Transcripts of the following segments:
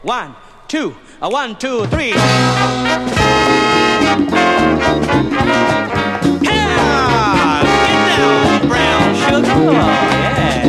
One, two, 1, 2, 3. Yeah! Get down, brown sugar. Oh, yeah.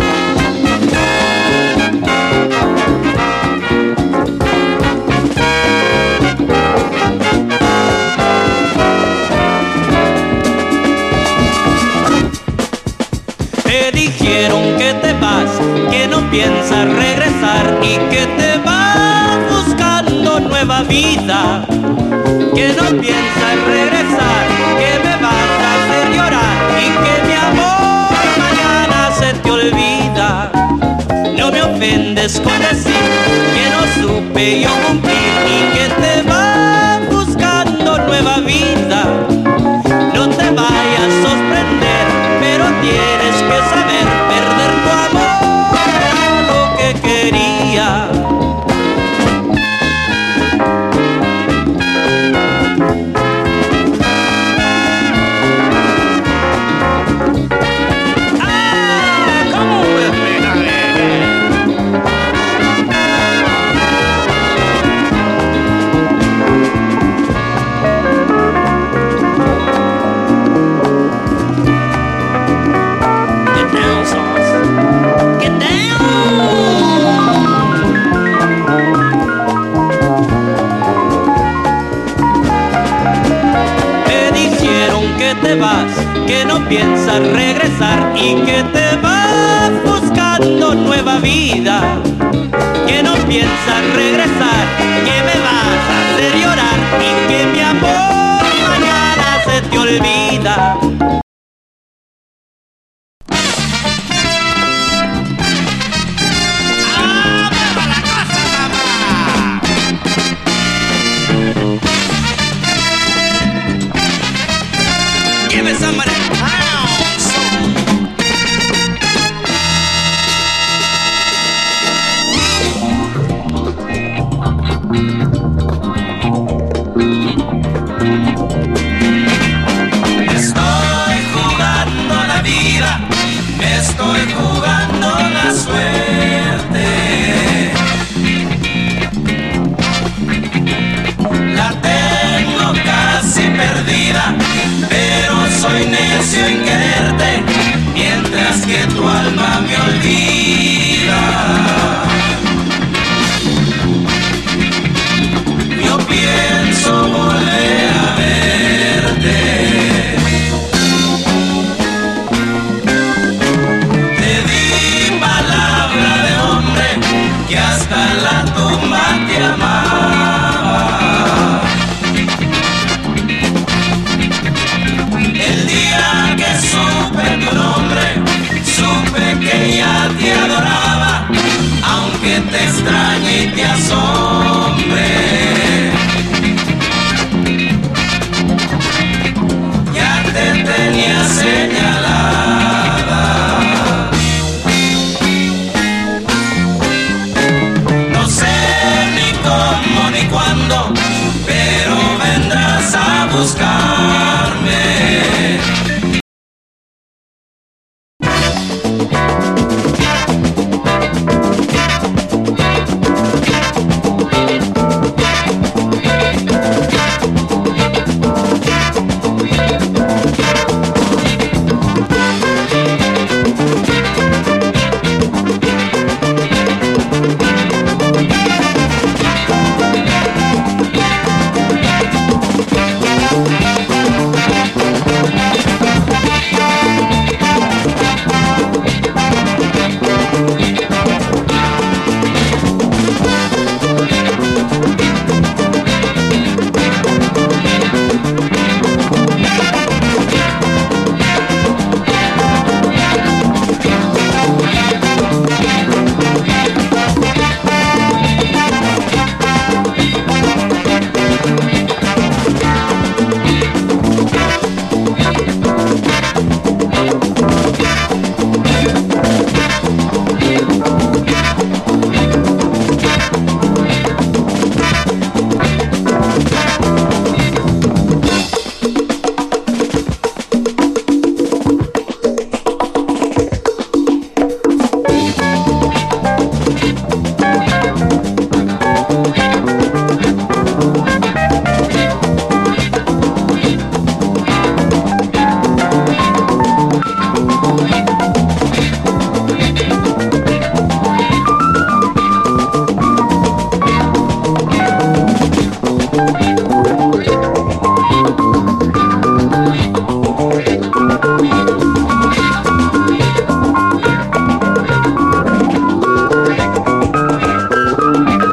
Te dijeron que te vas, que no piensas regresar y que te vas buscando nueva vida, que no piensas regresar, que me vas a hacer llorar y que mi amor mañana se te olvida. No me ofendes con decir que no supe yo cumplir y que te vas buscando nueva vida. No te vayas a sorprender, pero tienes que saber perder tu amor, era lo que quería. Que no piensas regresar y que te vas buscando nueva vida, que no piensas regresar, que me vas a hacer llorar y que mi amor mañana se te olvida. Estoy jugando la suerte, la tengo casi perdida, pero soy necio en quererte, mientras que tu alma me olvida. Yo pienso volver a verte. Que hasta la tumba te amaba. El día que supe tu nombre, supe que ya te adoraba, aunque te extrañe y te asombre.